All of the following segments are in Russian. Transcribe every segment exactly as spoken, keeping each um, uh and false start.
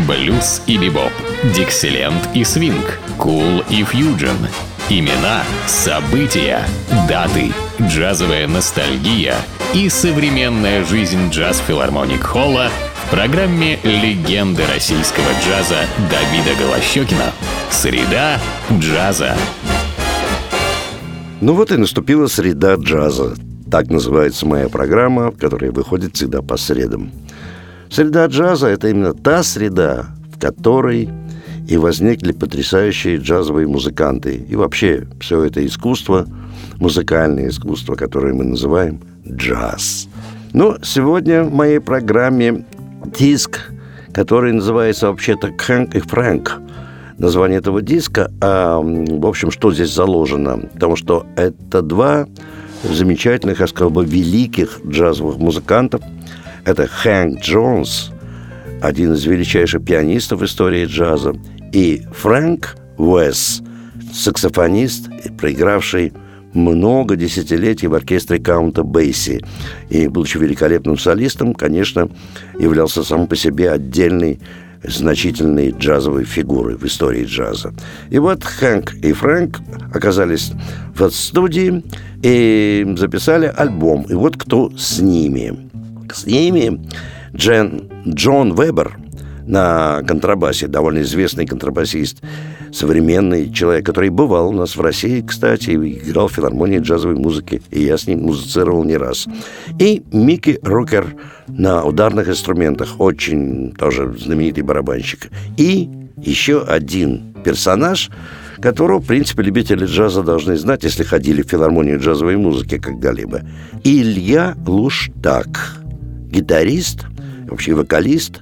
Блюз и бибоп, диксиленд и свинг, кул и фьюджен. Имена, события, даты, джазовая ностальгия и современная жизнь джаз-филармоник Холла в программе «Легенды российского джаза» Давида Голощёкина. Среда джаза. Ну вот и наступила среда джаза. Так называется моя программа, которая выходит всегда по средам. Среда джаза – это именно та среда, в которой и возникли потрясающие джазовые музыканты. И вообще все это искусство, музыкальное искусство, которое мы называем джаз. Но сегодня в моей программе диск, который называется вообще-то «Хэнк и Фрэнк». Название этого диска, а, в общем, что здесь заложено? Потому что это два замечательных, я сказал бы, великих джазовых музыкантов. Это Хэнк Джонс, один из величайших пианистов в истории джаза, и Фрэнк Уэс, саксофонист, проигравший много десятилетий в оркестре Каунта Бейси. И, будучи великолепным солистом, конечно, являлся сам по себе отдельной значительной джазовой фигурой в истории джаза. И вот Хэнк и Фрэнк оказались в студии и записали альбом. И вот кто с ними. С ними Джен, Джон Вебер на контрабасе, довольно известный контрабасист, современный человек, который бывал у нас в России, кстати, и играл в филармонии джазовой музыки, и я с ним музицировал не раз. И Микки Рукер на ударных инструментах, очень тоже знаменитый барабанщик. И еще один персонаж, которого, в принципе, любители джаза должны знать, если ходили в филармонию джазовой музыки когда-либо. Илья Луштаг, гитарист, вообще вокалист.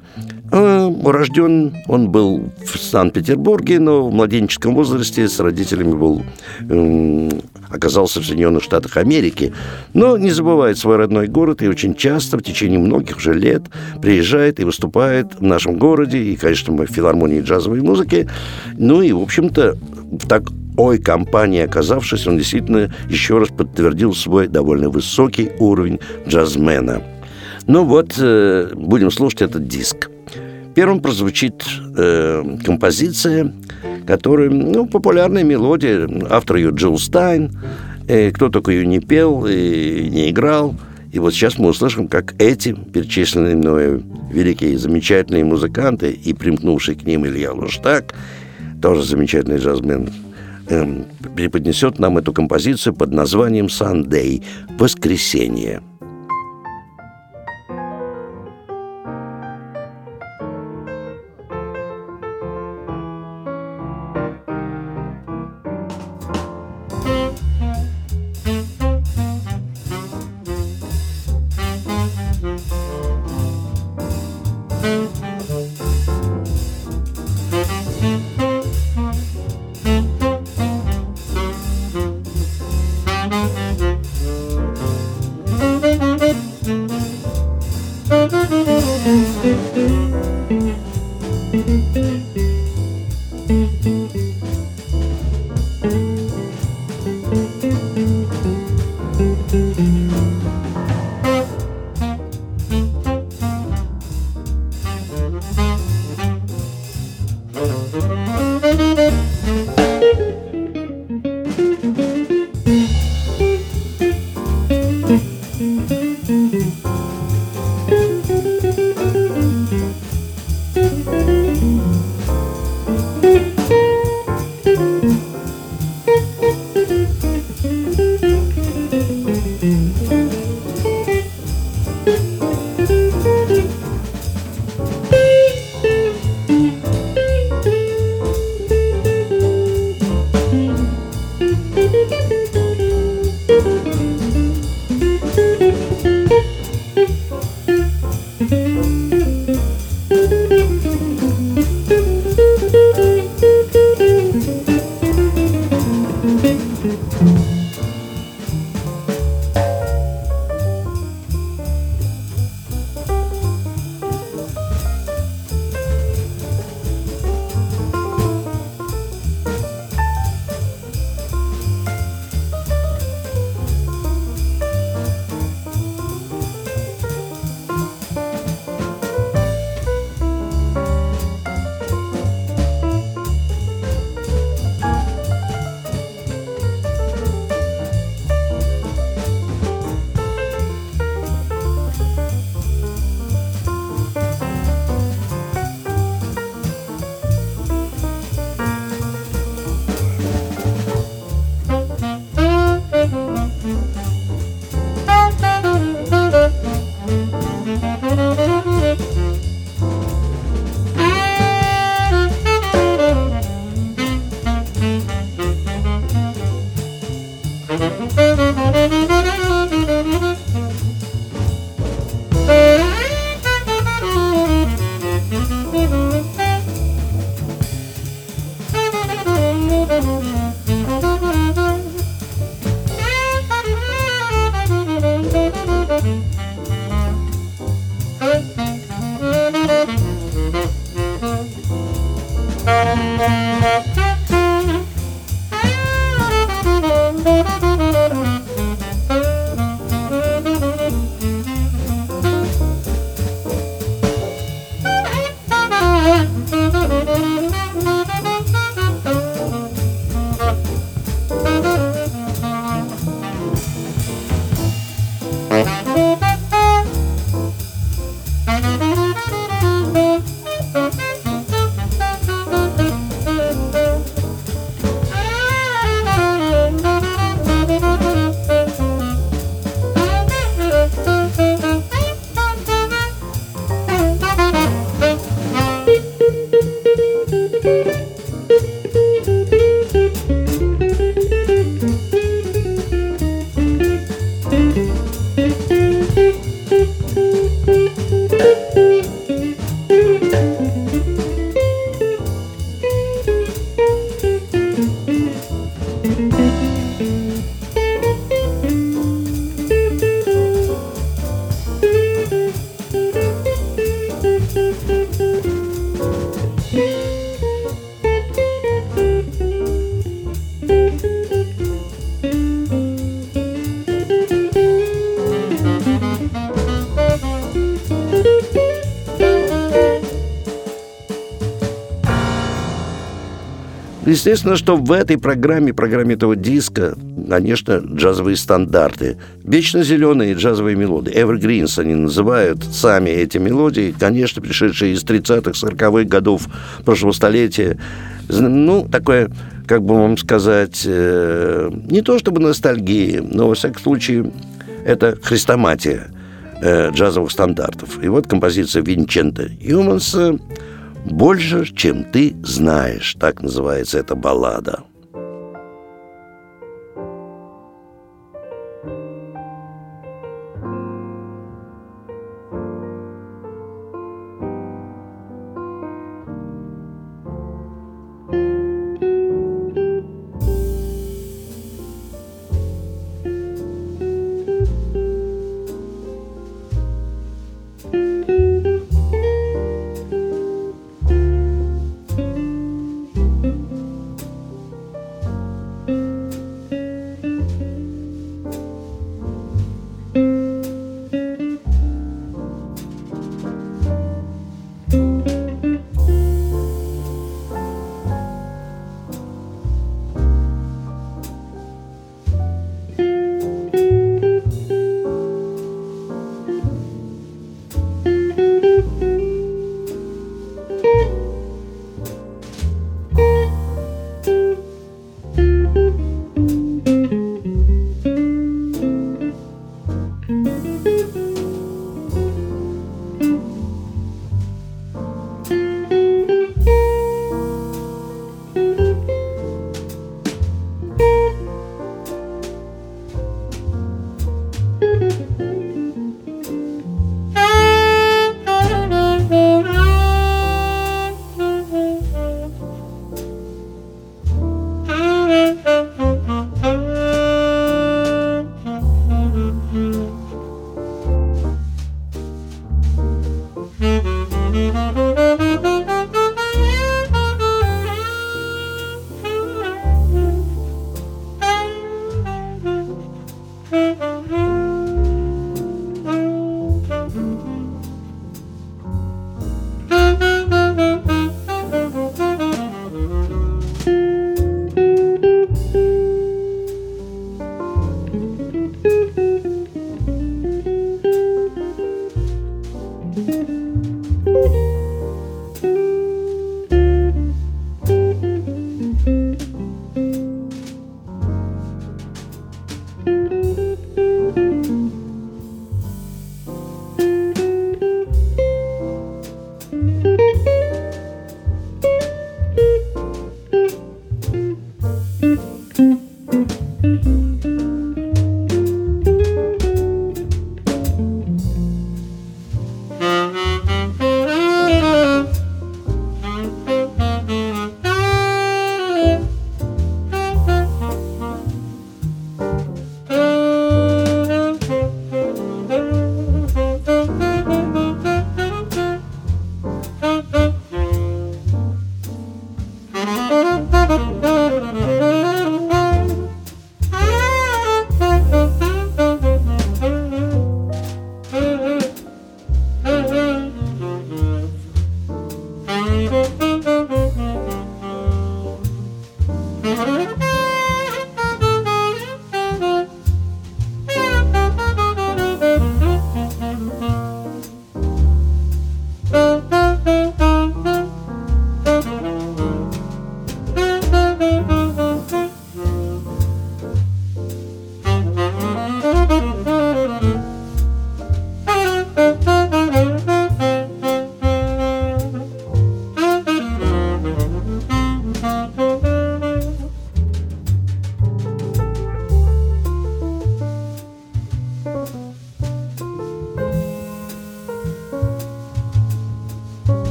Рожден он был в Санкт-Петербурге, но в младенческом возрасте с родителями был, э, оказался в Соединенных Штатах Америки. Но не забывает свой родной город и очень часто, в течение многих уже лет, приезжает и выступает в нашем городе, и, конечно, мы в филармонии джазовой музыки. Ну и, в общем-то, в такой компании оказавшись, он действительно еще раз подтвердил свой довольно высокий уровень джазмена. Ну вот, э, будем слушать этот диск. Первым прозвучит э, композиция, которая, ну, популярная мелодия, автор ее Джилл Стайн, э, кто только ее не пел и не играл. И вот сейчас мы услышим, как эти перечисленные мною великие, замечательные музыканты и примкнувший к ним Илья Луштаг, тоже замечательный джазмен, э, преподнесет нам эту композицию под названием «Sunday» – «Воскресенье». Естественно, что в этой программе, программе этого диска, конечно, джазовые стандарты. Вечно зеленые джазовые мелодии. Evergreens они называют сами эти мелодии, конечно, пришедшие из тридцатых, сороковых годов прошлого столетия. Ну, такое, как бы вам сказать, э, не то чтобы ностальгия, но, во всяком случае, это хрестоматия э, джазовых стандартов. И вот композиция Винченто Юманса «Больше, чем ты знаешь», так называется эта баллада.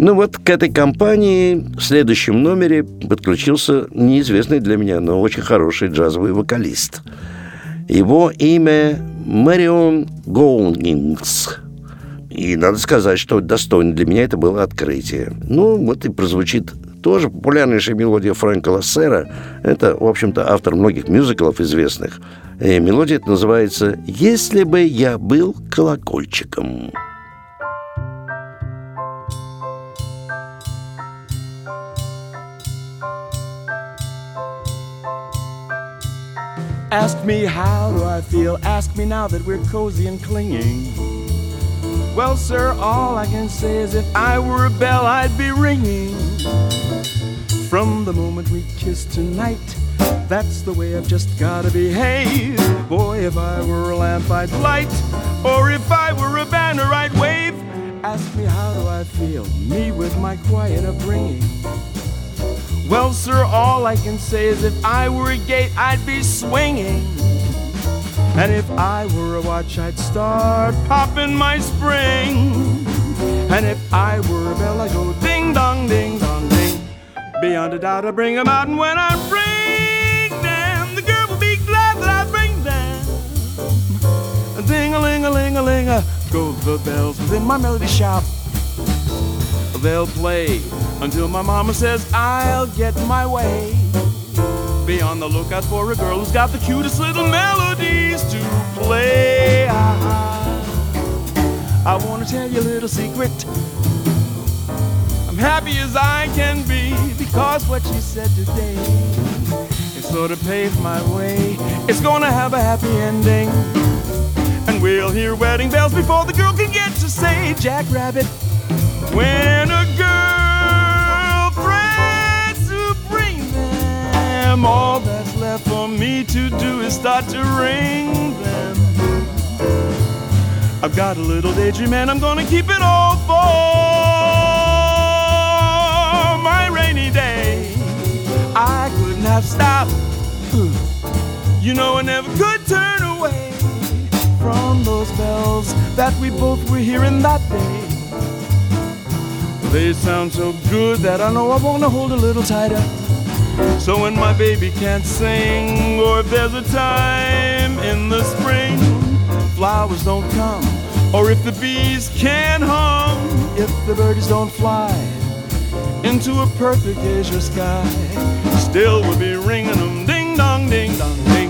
Ну вот к этой компании в следующем номере подключился неизвестный для меня, но очень хороший джазовый вокалист. Его имя Мэрион Гоунингс. И надо сказать, что достойно для меня это было открытие. Ну, вот и прозвучит тоже популярнейшая мелодия Фрэнка Лассера. Это, в общем-то, автор многих мюзиклов известных. И мелодия эта называется «Если бы я был колокольчиком». Ask me how do I feel, ask me now that we're cozy and clinging. Well, sir, all I can say is if I were a bell, I'd be ringing. From the moment we kissed tonight, that's the way I've just gotta behave. Boy, if I were a lamp, I'd light, or if I were a banner, I'd wave. Ask me how do I feel, me with my quiet upbringing. Well, sir, all I can say is if I were a gate, I'd be swinging. And if I were a watch, I'd start popping my spring. And if I were a bell, I'd go ding dong, ding dong, ding. Beyond a doubt, I bring them out, and when I bring them, the girl will be glad that I bring them. Ding-a-ling-a-ling-a-ling, go the bells within my melody shop. They'll play until my mama says I'll get my way. Be on the lookout for a girl who's got the cutest little melodies to play. I, I want to tell you a little secret. I'm happy as I can be because what you said today, it sort of paved my way. It's gonna have a happy ending, and we'll hear wedding bells before the girl can get to say Jackrabbit. When a girl threats to bring them, all that's left for me to do is start to ring them. I've got a little daydream and I'm gonna keep it all for my rainy day. I couldn't have stopped. You know I never could turn away from those bells that we both were hearing that day. They sound so good that I know I want to hold a little tighter. So when my baby can't sing, or if there's a time in the spring flowers don't come, or if the bees can't hum, if the birds don't fly into a perfect azure sky, still we'll be ringing them ding dong, ding dong, ding.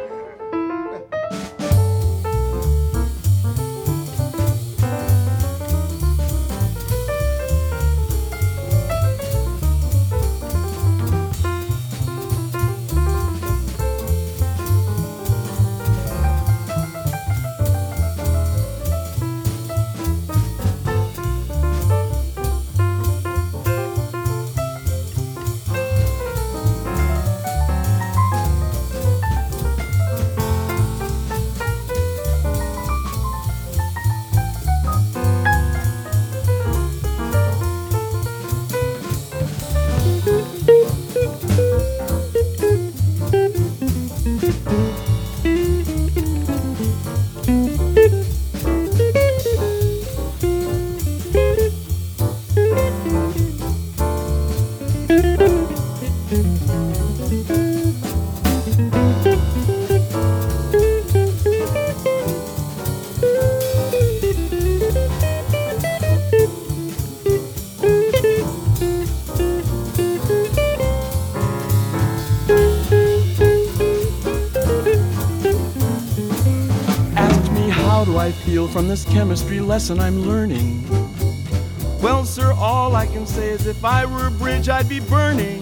I feel from this chemistry lesson I'm learning. Well, sir, all I can say is if I were a bridge, I'd be burning.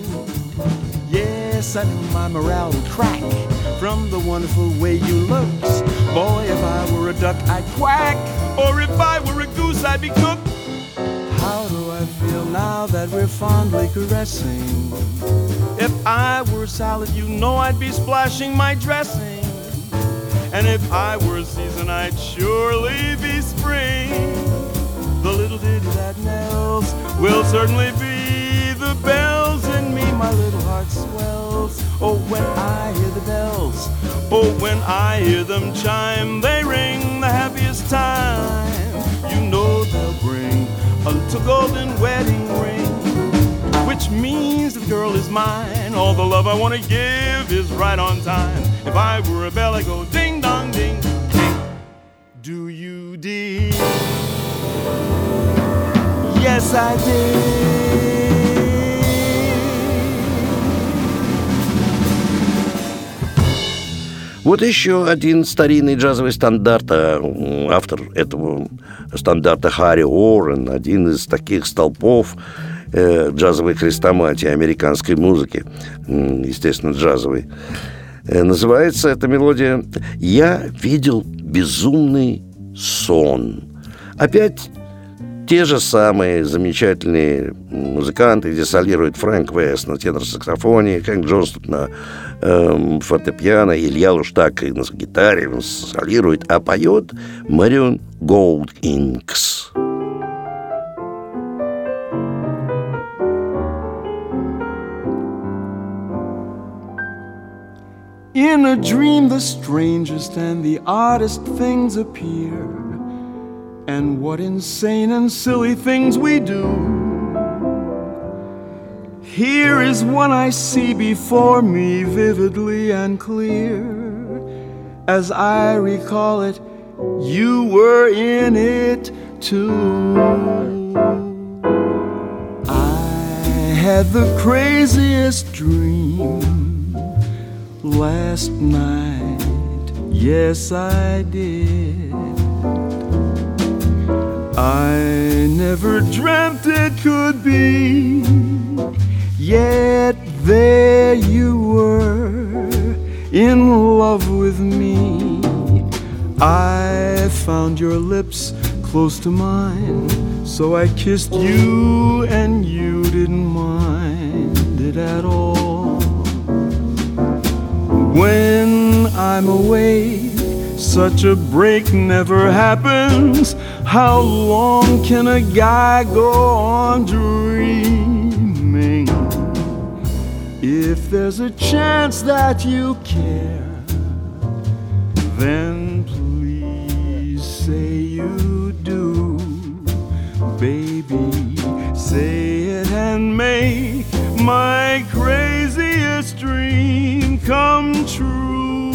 Yes, I knew my morale would crack from the wonderful way you looked. Boy, if I were a duck, I'd quack, or if I were a goose, I'd be cooked. How do I feel now that we're fondly caressing? If I were salad, you know I'd be splashing my dressing. And if I were a season, I'd surely be spring. The little ditty that knells will certainly be the bells in me. My little heart swells. Oh, when I hear the bells. Oh, when I hear them chime, they ring the happiest time. You know they'll bring a a golden wedding ring, which means the girl is mine. All the love I want to give is right on time. If I were a bell, I'd go ding dong ding ding. Do you dig? Yes, I did. Вот еще один старинный джазовый стандарт. Автор этого стандарта Харри Уоррен, один из таких столпов э, джазовой хрестоматии американской музыки, естественно, джазовой. Э, называется эта мелодия «Я видел безумный сон». Опять те же самые замечательные музыканты, где солирует Фрэнк Вест на тенор-саксофоне, Хэнк Джонстон на э, фортепиано, Илья Луштак на гитаре он солирует, а поет Марион Голдинкс. In a dream the strangest and the oddest things appear, and what insane and silly things we do. Here is one I see before me vividly and clear. As I recall it, you were in it too. I had the craziest dream last night. Yes, I did. I never dreamt it could be, yet there you were, in love with me. I found your lips close to mine, so I kissed you and you didn't mind it at all. When I'm awake, such a break never happens. How long can a guy go on dreaming? If there's a chance that you care, then please say you do. Baby, say it and make my craziest dream come true.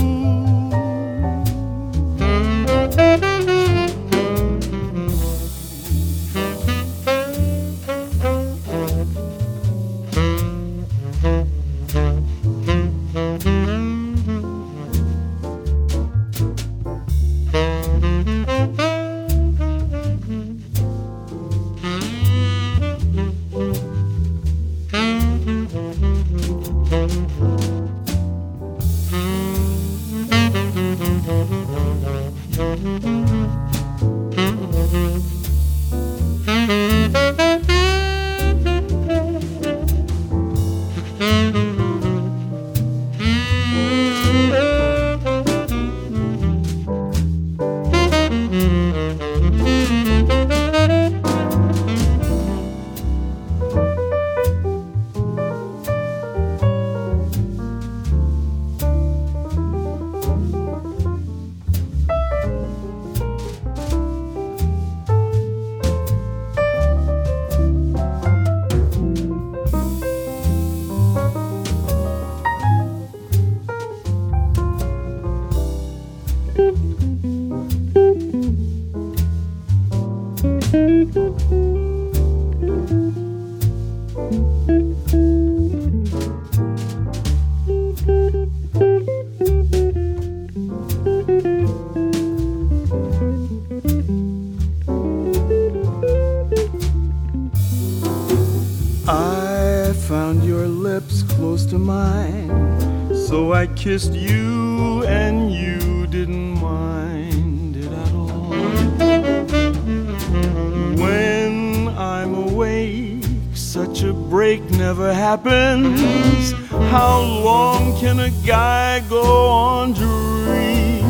I found your lips close to mine, so I kissed you and you didn't mind it at all. When I'm awake, such a break never happens. How long can a guy go on dreaming?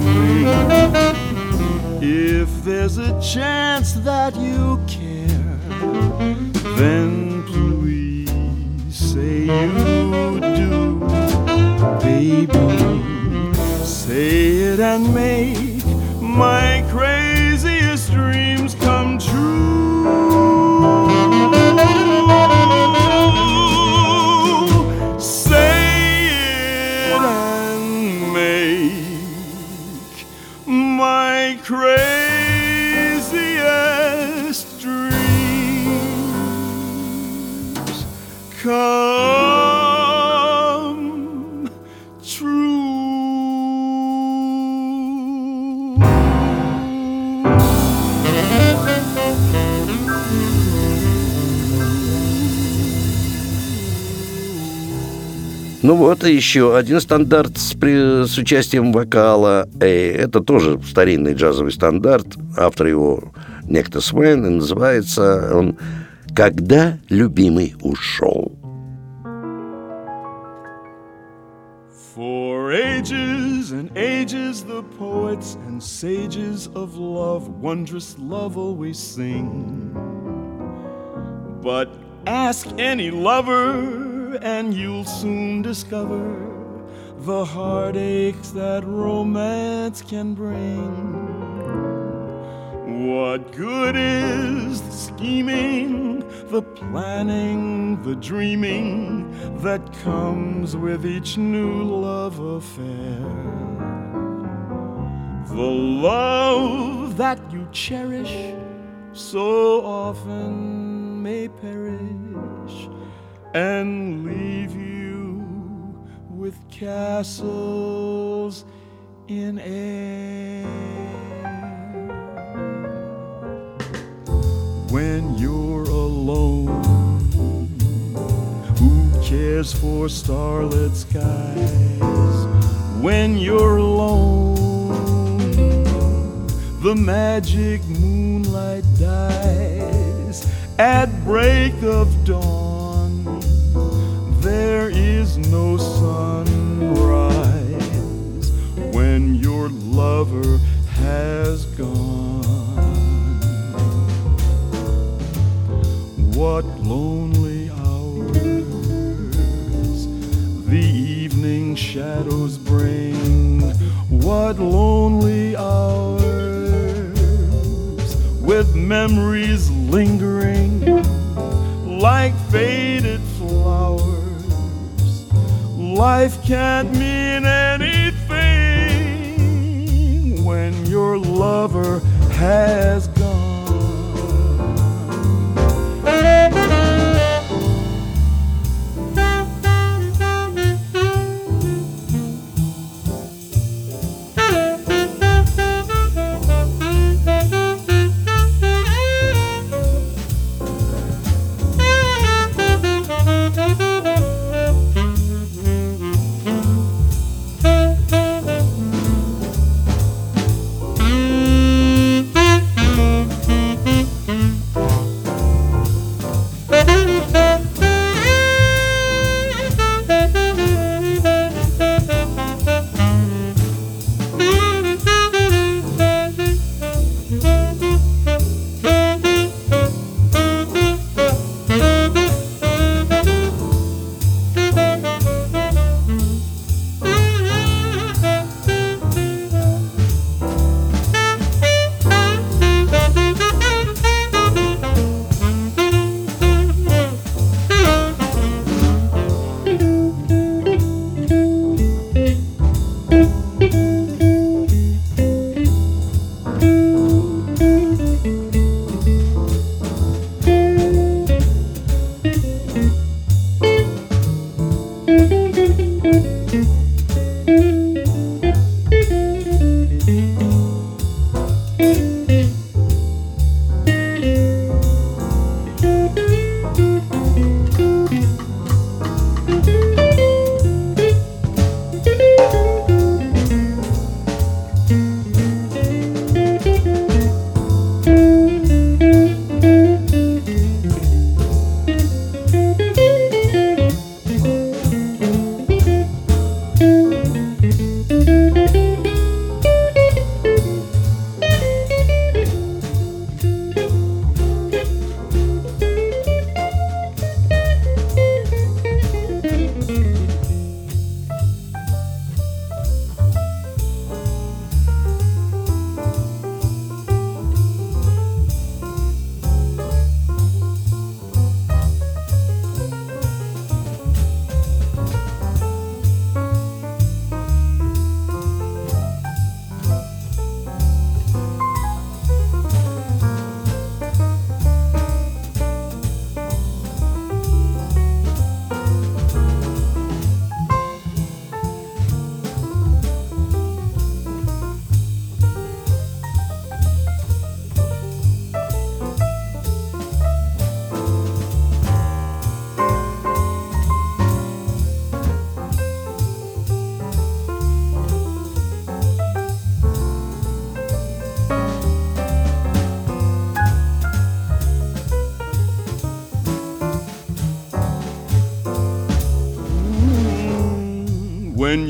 If there's a chance that you care, then please say you do. Baby, say it and make my craziest dreams come true. my craziest dreams come true. Ну вот и еще один стандарт с, при, с участием вокала. Эй, это тоже старинный джазовый стандарт. Автор его некто Свен, и называется он «Когда любимый ушел». For ages and ages the poets and sages of love wondrous love always sing. But ask any lover and you'll soon discover the heartaches that romance can bring. What good is the scheming, the planning, the dreaming that comes with each new love affair? The love that you cherish so often may perish and leave you with castles in air. When you're alone, who cares for starlit skies? When you're alone, the magic moonlight dies. At break of dawn, there is no sunrise when your lover has gone. What lonely hours the evening shadows bring. What lonely hours with memories lingering like faded flowers. Life can't mean anything when your lover has gone.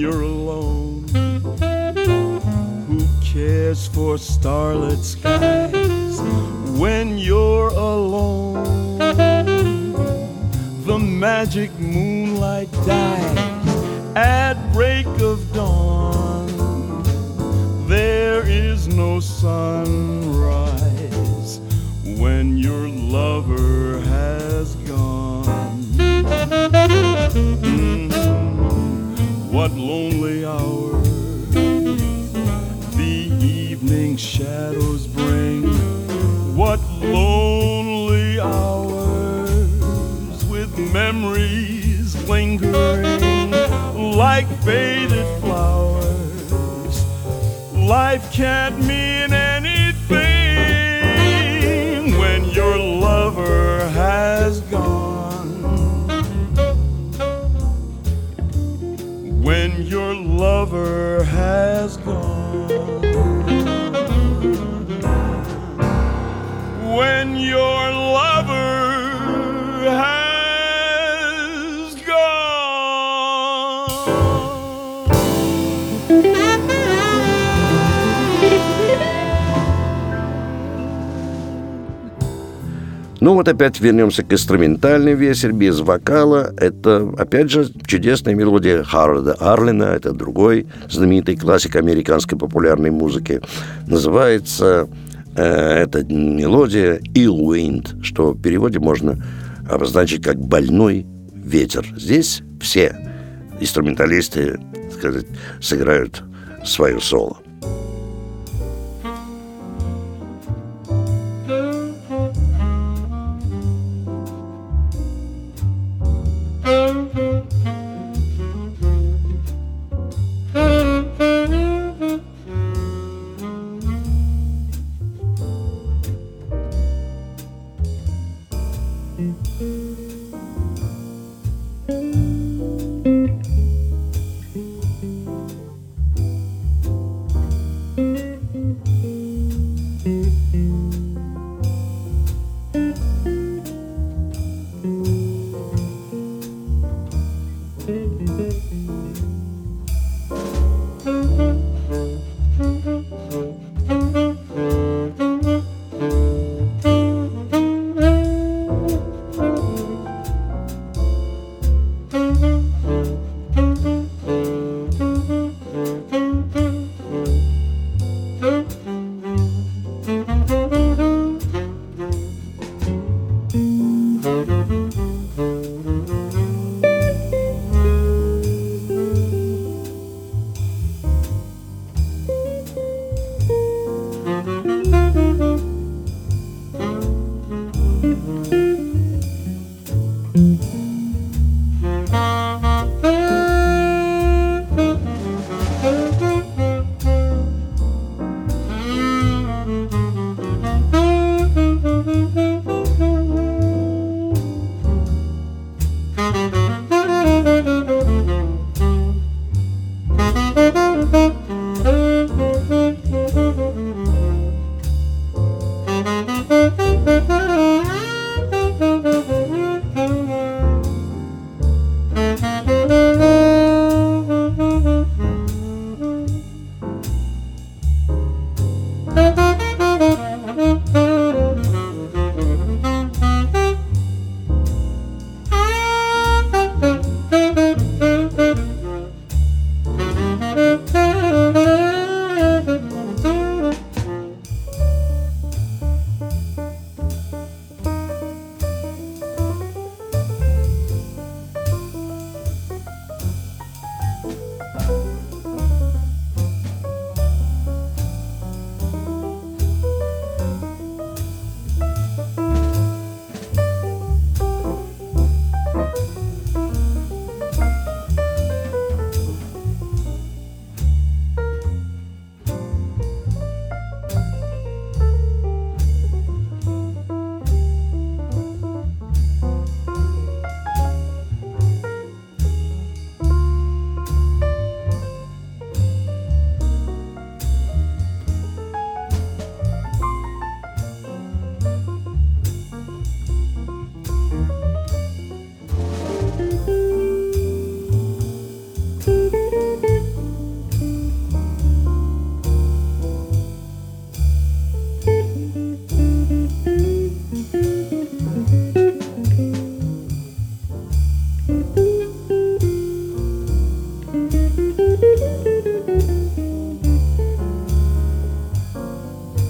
you're alone? Who cares for starlit skies when you're alone? The magic moonlight dies at break of dawn. There is no sunrise when your lover has gone. Mm-hmm. What lonely hours the evening shadows bring. What lonely hours with memories lingering like faded flowers. Life can't mean anything when your lover has gone. When your lover has gone. When your lover has gone. Ну вот опять вернемся к инструментальной версии без вокала. Это, опять же, чудесная мелодия Харолда Арлина. Это другой знаменитый классик американской популярной музыки. Называется э, эта мелодия «Ill Wind», что в переводе можно обозначить как «больной ветер». Здесь все инструменталисты, так сказать, сыграют свое соло.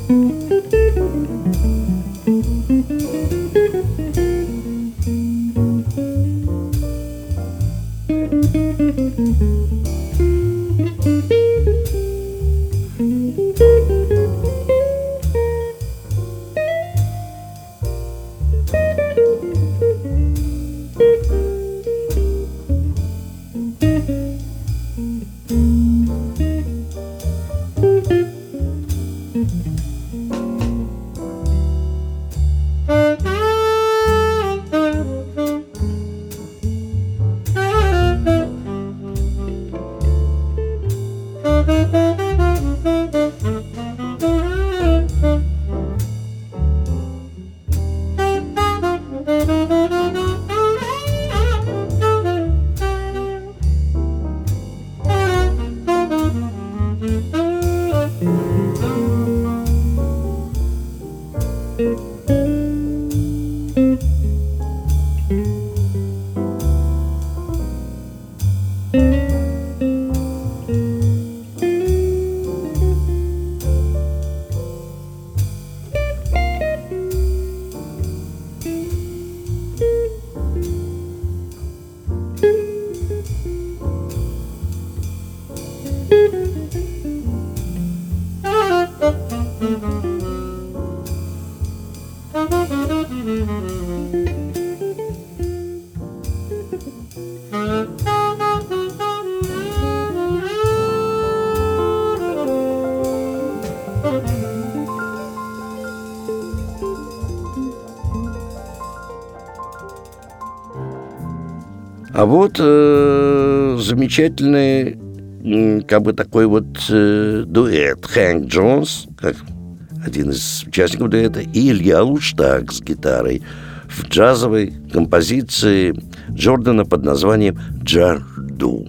А вот э, замечательный, э, как бы такой вот э, дуэт. Хэнк Джонс, как один из участников дуэта, и Илья Луштаг с гитарой в джазовой композиции Джордана под названием «Джарду».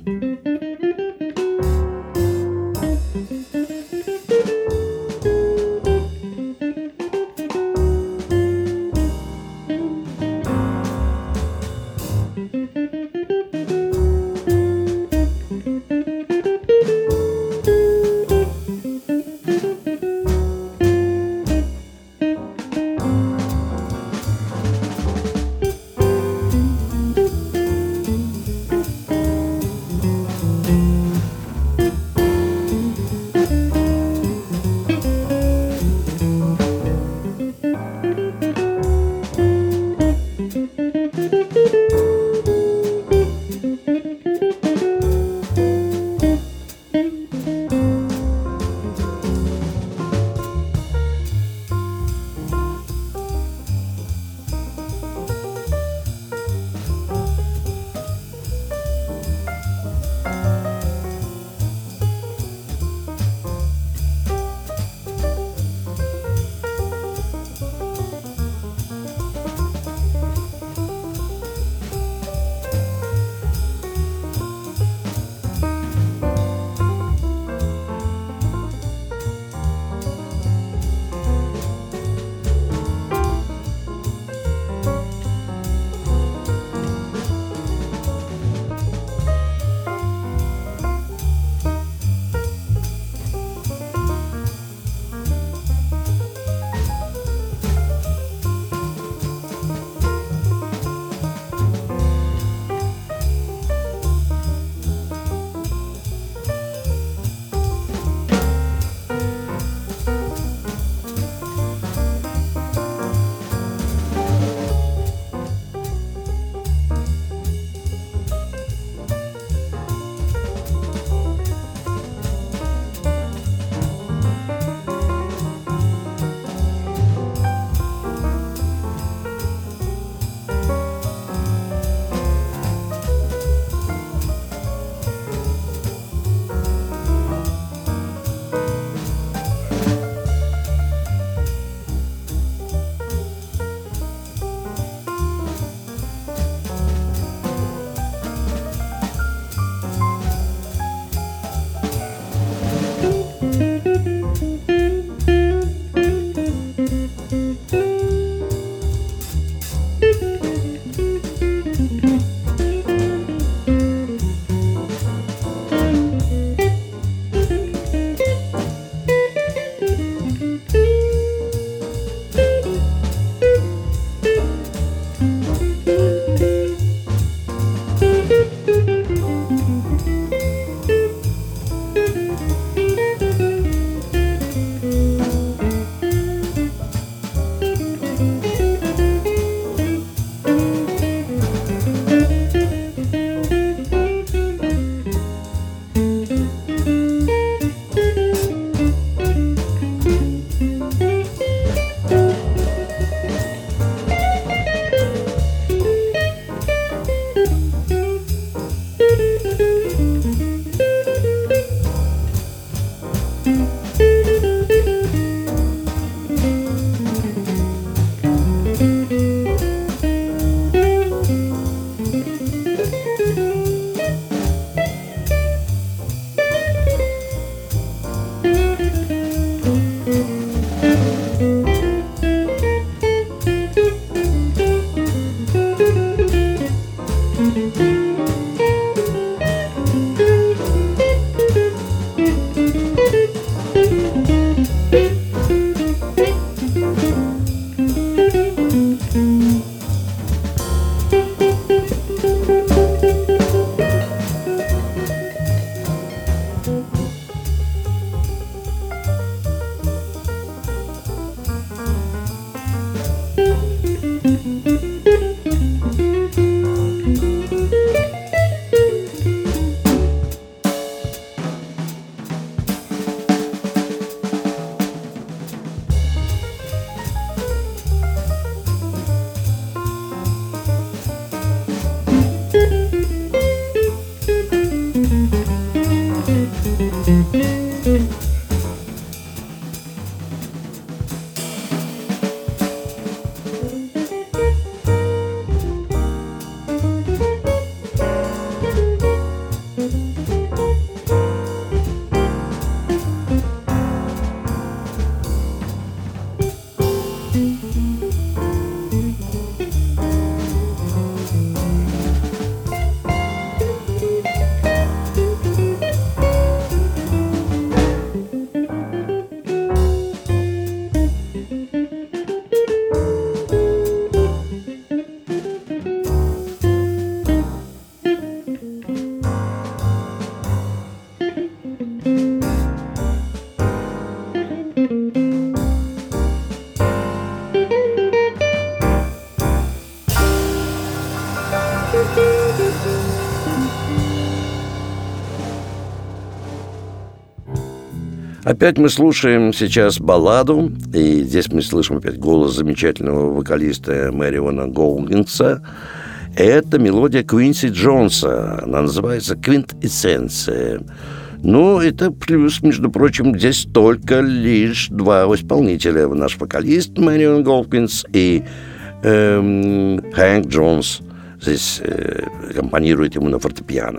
Опять мы слушаем сейчас балладу, и здесь мы слышим опять голос замечательного вокалиста Мэриона Гоугинса. Это мелодия Квинси Джонса, она называется «Квинтэссенция». Ну, это плюс, между прочим, здесь только лишь два исполнителя. Наш вокалист Мэрион Гоугинс и эм, Хэнк Джонс здесь э, аккомпанирует ему на фортепиано.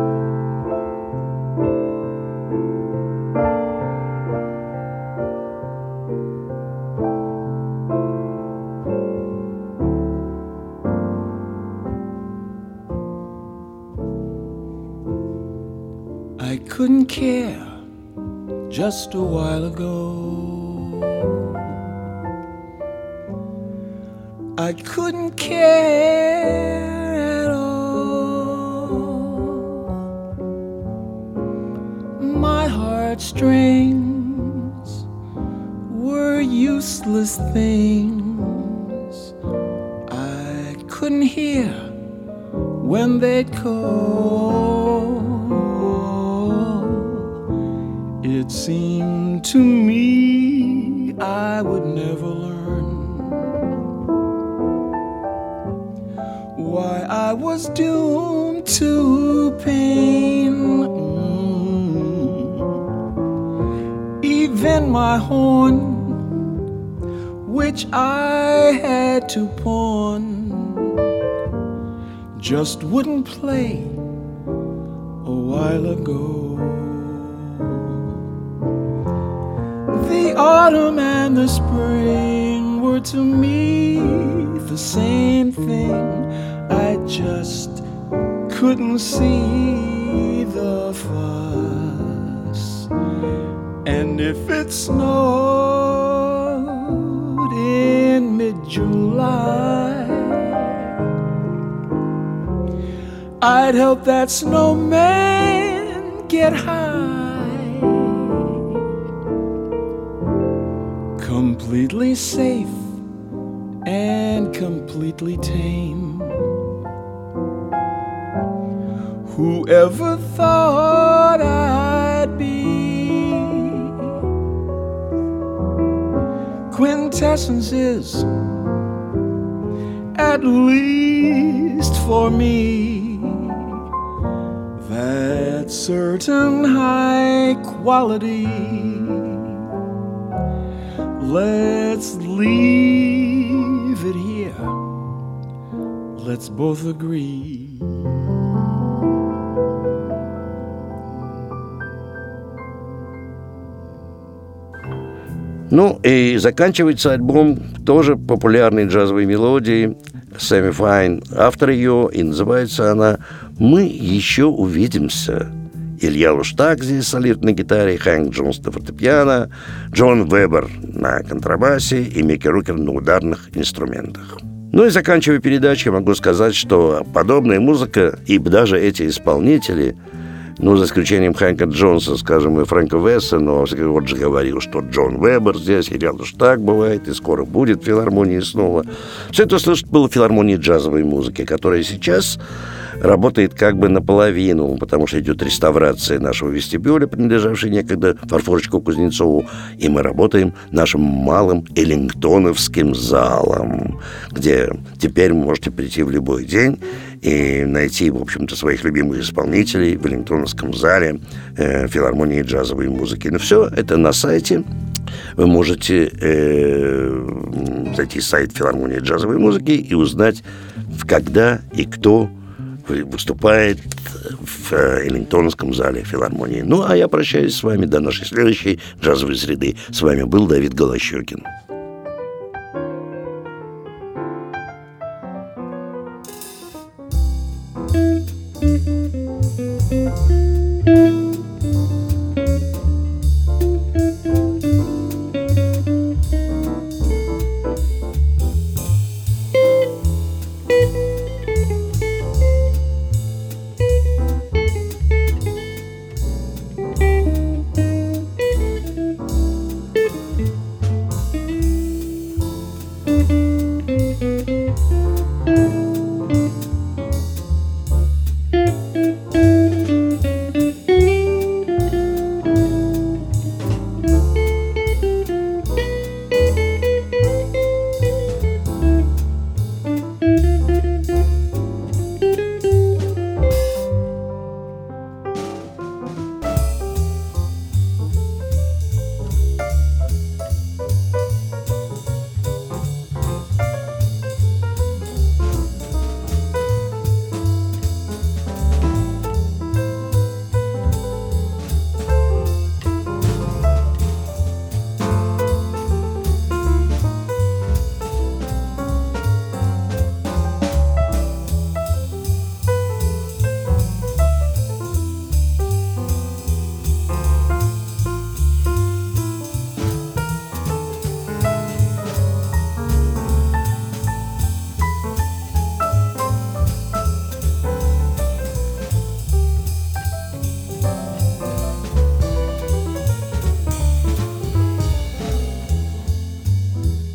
I couldn't care just a while ago. I couldn't care at all. My heartstrings were useless things. I couldn't hear when they'd call. It seemed to me I would never learn why I was doomed to pain. Mm. Even my horn, which I had to pawn, just wouldn't play a while ago. The autumn and the spring were to me the same thing. I just couldn't see the fuss. And if it snowed in mid-July, I'd help that snowman get high. Completely safe and completely tame. Whoever thought I'd be? Quintessence is, at least for me, that certain high quality. Let's leave it here. Let's both agree. Ну и заканчивается альбом тоже популярной джазовой мелодией Сэмми Файн. Автор ее, и называется она «Мы еще увидимся». Илья Луштаг здесь солирует на гитаре, Хэнк Джонс на фортепиано, Джон Вебер на контрабасе и Микки Рукер на ударных инструментах. Ну и заканчивая передачу, я могу сказать, что подобная музыка и даже эти исполнители, ну, за исключением Хэнка Джонса, скажем, и Фрэнка Весса, но вот же говорил, что Джон Вебер здесь, Илья Луштаг бывает, и скоро будет в филармонии снова. Все это слышать было в филармонии джазовой музыки, которая сейчас работает как бы наполовину, потому что идет реставрация нашего вестибюля, принадлежавшей некогда Фарфорчику Кузнецову, и мы работаем нашим малым эллингтоновским залом, где теперь вы можете прийти в любой день и найти, в общем-то, своих любимых исполнителей в эллингтоновском зале э, филармонии джазовой музыки. Но все это на сайте. Вы можете э, зайти в сайт филармонии джазовой музыки и узнать, когда и кто выступает в эллингтоновском зале филармонии. Ну, а я прощаюсь с вами до нашей следующей джазовой среды. С вами был Давид Голощёкин.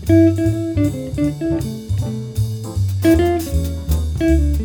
Thank you.